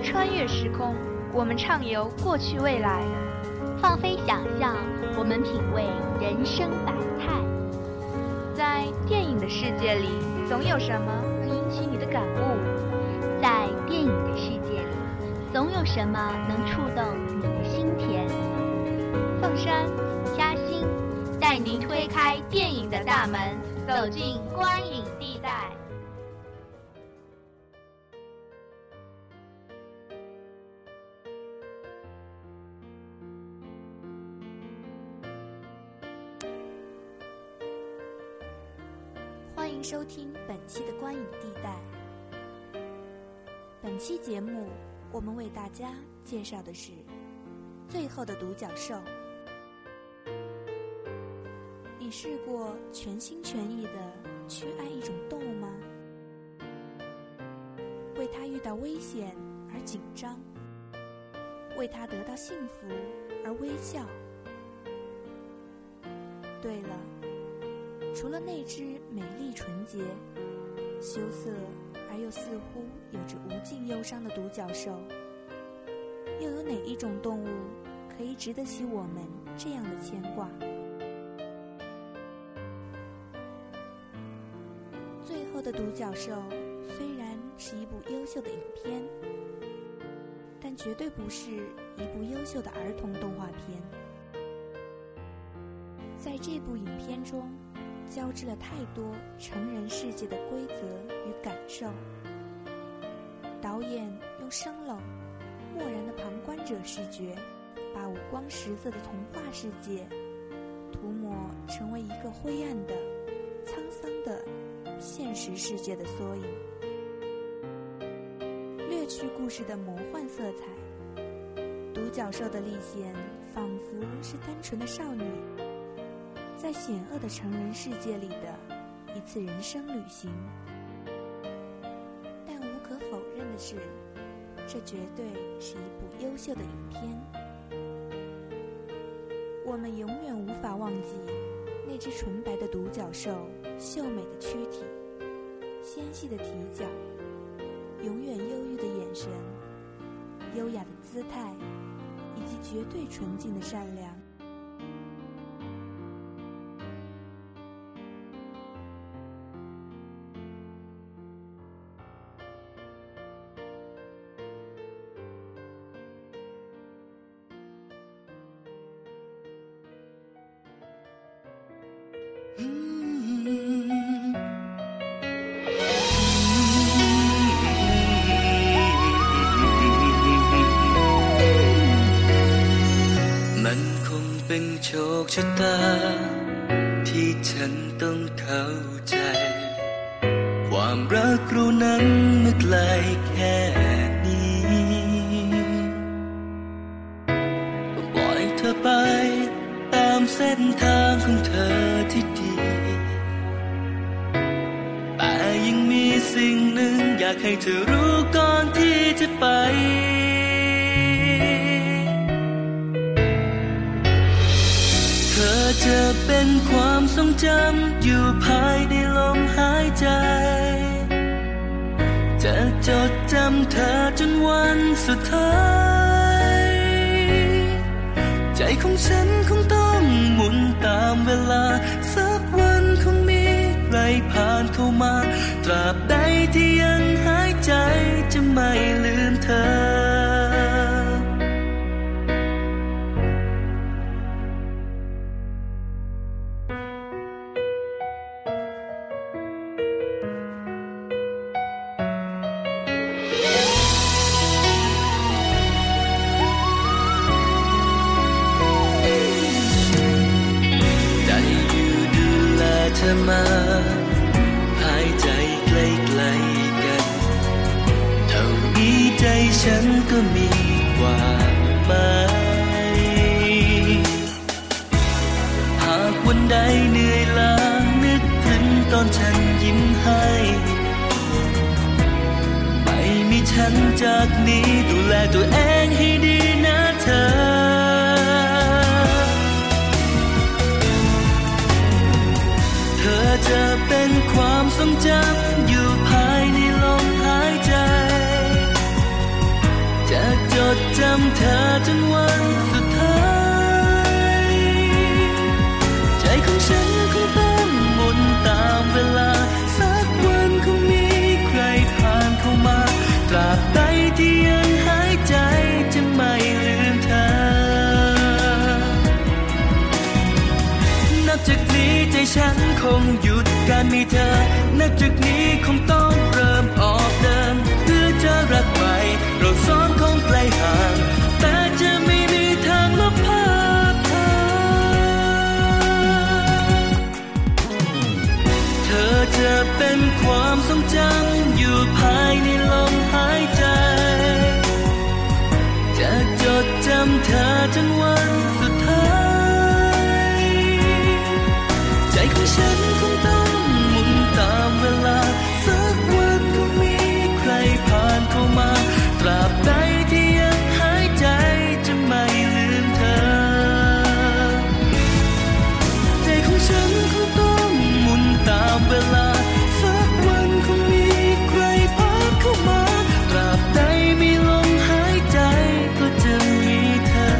穿越时空，我们畅游过去未来， 放飞想象，我们品味人生百态。 在电影的世界里，总有什么能引起你的感悟； 在电影的世界里，总有什么能触动你的心田。 凤山、嘉兴带您推开电影的大门，走进观影地带。 欢迎收听本期的观影地带。本期节目，我们为大家介绍的是《最后的独角兽》。你试过全心全意地去爱一种动物吗？为它遇到危险而紧张，为它得到幸福而微笑。对了，除了那只美丽纯洁、羞涩而又似乎有着无尽忧伤的独角兽，又有哪一种动物可以值得起我们这样的牵挂？最后的独角兽虽然是一部优秀的影片，但绝对不是一部优秀的儿童动画片。在这部影片中，交织了太多成人世界的规则与感受。导演用生冷、漠然的旁观者视觉，把五光十色的童话世界涂抹成为一个灰暗的、沧桑的现实世界的缩影，略去故事的魔幻色彩。独角兽的历险仿佛是单纯的少女在险恶的成人世界里的一次人生旅行。但无可否认的是，这绝对是一部优秀的影片。我们永远无法忘记那只纯白的独角兽秀美的躯体、纤细的蹄脚、永远忧郁的眼神、优雅的姿态，以及绝对纯净的善良。 โชคชะตาที่ฉันต้องเข้าใจความรักเรานั้นเมื่อไกลแค่นี้ปล่อยเธอไปตามเส้นทางของเธอที่ดีแต่ยังมีสิ่งหนึ่งอยากให้เธอรู้ก่อนที่จะไปจะเป็นความทรงจำอยู่ภายในลมหายใจจะจดจำเธอจนวันสุดท้ายใจของฉันคงต้องหมุนตามเวลาสักวันคงมีใครผ่านเข้ามาตราบใดที่ยังหายใจจะไม่ลืมเธอมาหายใจใกล้ๆกันเท่านี้ใจฉันก็มีความหมายหากวันใดเหนื่อยล้านึกถึงตอนฉันยิ้มให้ไม่มีฉันจากนี้ดูแลตัวเองให้ดีนะเธอจะเป็นความทรงจำอยู่ภายในลมหายใจำเธอจนวันสุดท้ายใจของฉันคงต้องหมุนตามเวลาสักวันคงมีใครผ่านเข้ามาตราบใดที่ยังหายใจจะไม่ลืมเธอนับจากนี้ใจฉันคงหยุดการมีเธอนับจากนี้คงต้องเริ่มออกเดินเพื่อจะรักใหม่เราสองคงไกลห่างแต่จะไม่มีทางลบภาพเธอจะเป็นความทรงจำอยู่ภายในลมหายใจจะจดจำเธอจนวันสุดท้ายใจของฉันคงต้องหมุนตามเวลาสักวันคงมีใครผ่านเข้ามาตราบใดที่ยังหายใจจะไม่ลืมเธอใจของฉันคงต้องหมุนตามเวลาสักวันคงมีใครผ่านเข้ามาตราบใดมีลมหายใจก็จะมีเธอ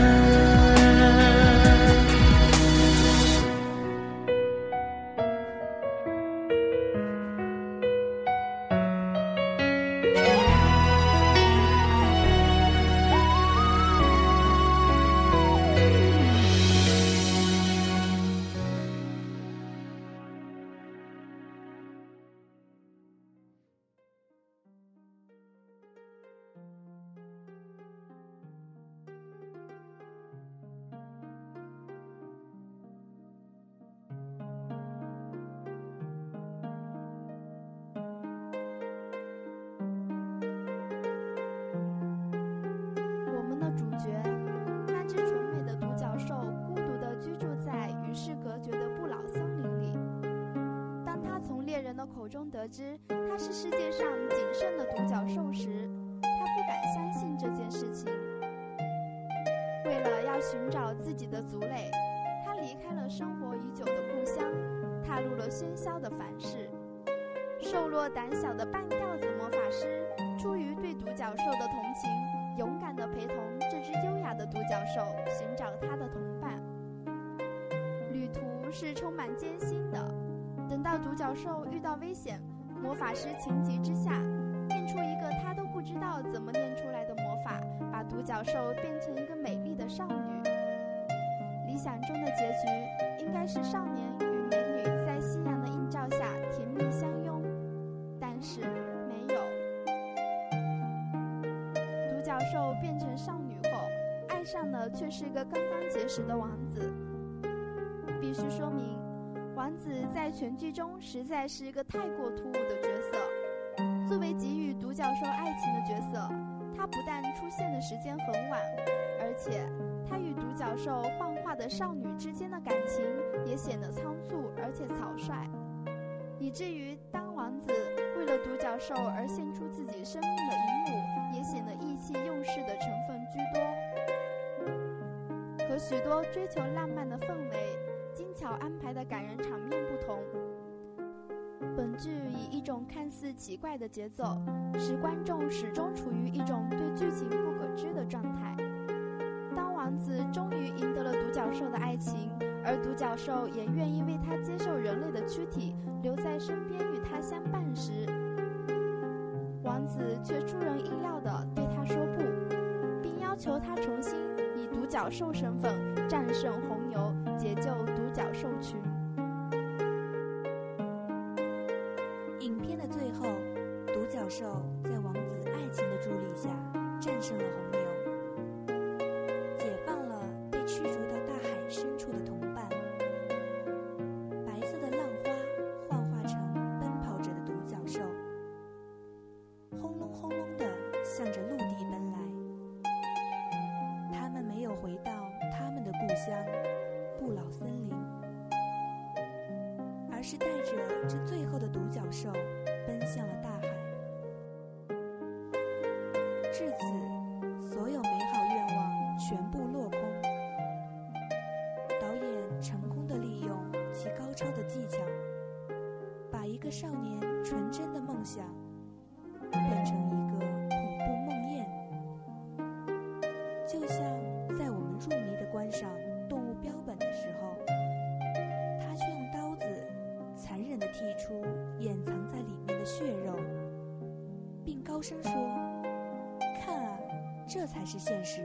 口中得知他是世界上仅剩的独角兽时，他不敢相信这件事情。为了要寻找自己的族类，他离开了生活已久的故乡，踏入了喧嚣的凡世。瘦弱胆小的半吊子魔法师，出于对独角兽的同情，勇敢地陪同这只优雅的独角兽寻找他的同伴。旅途是充满艰辛的。等到独角兽遇到危险，魔法师情急之下念出一个他都不知道怎么念出来的魔法，把独角兽变成一个美丽的少女。理想中的结局应该是少年与美女在夕阳的映照下甜蜜相拥，但是没有。独角兽变成少女后，爱上的却是个刚刚结识的王子。必须说明，王子在全剧中实在是一个太过突兀的角色。作为给予独角兽爱情的角色，他不但出现的时间很晚，而且他与独角兽幻化的少女之间的感情也显得仓促而且草率，以至于当王子为了独角兽而献出自己生命的一幕，也显得意气用事的成分居多。和许多追求浪漫的氛围精巧安排的感人场面不同，本剧以一种看似奇怪的节奏，使观众始终处于一种对剧情不可知的状态。当王子终于赢得了独角兽的爱情，而独角兽也愿意为他接受人类的躯体，留在身边与他相伴时，王子却出人意料地对他说不，并要求他重新以独角兽身份战胜红牛，解救独角兽群。 影片的最后，独角兽在王子爱情的助力下战胜了红牛，解放了被驱逐到大海深处的同伴。白色的浪花幻化成奔跑着的独角兽，轰隆轰隆地向着陆地奔来。他们没有回到他们的故乡不老森林，而是带着这最后的独角兽奔向了大海。至此，所有美好愿望全部落空。导演成功地利用其高超的技巧，把一个少年纯真的梦想变成一个恐怖梦魇。就高声说：“看啊，这才是现实。”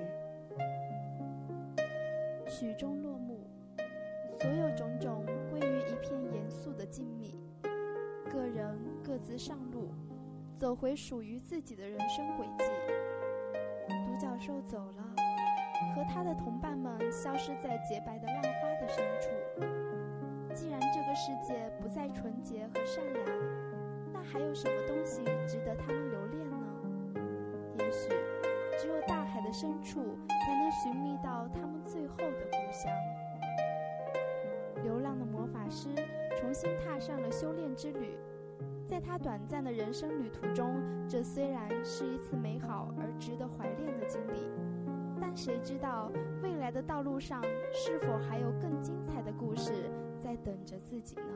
曲终落幕，所有种种归于一片严肃的静谧，个人各自上路，走回属于自己的人生轨迹。独角兽走了，和他的同伴们消失在洁白的浪花的深处。既然这个世界不再纯洁和善良，那还有什么东西值得他们留恋呢？也许只有大海的深处才能寻觅到他们最后的故乡。流浪的魔法师重新踏上了修炼之旅，在他短暂的人生旅途中，这虽然是一次美好而值得怀恋的经历，但谁知道未来的道路上是否还有更精彩的故事在等着自己呢？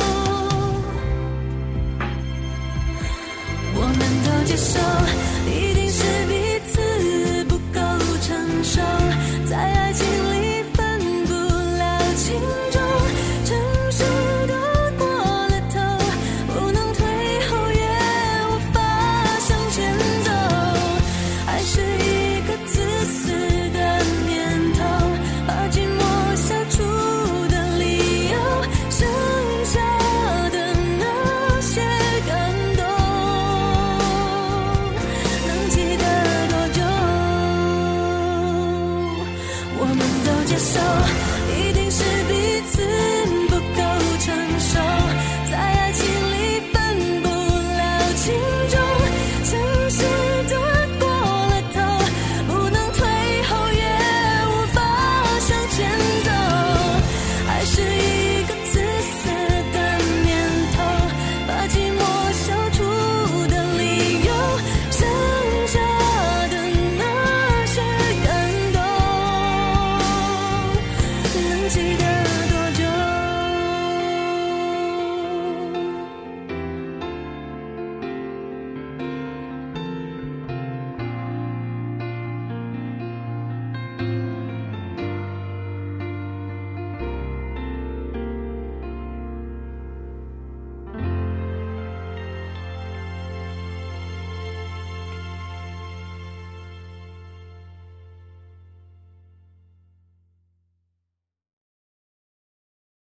接受。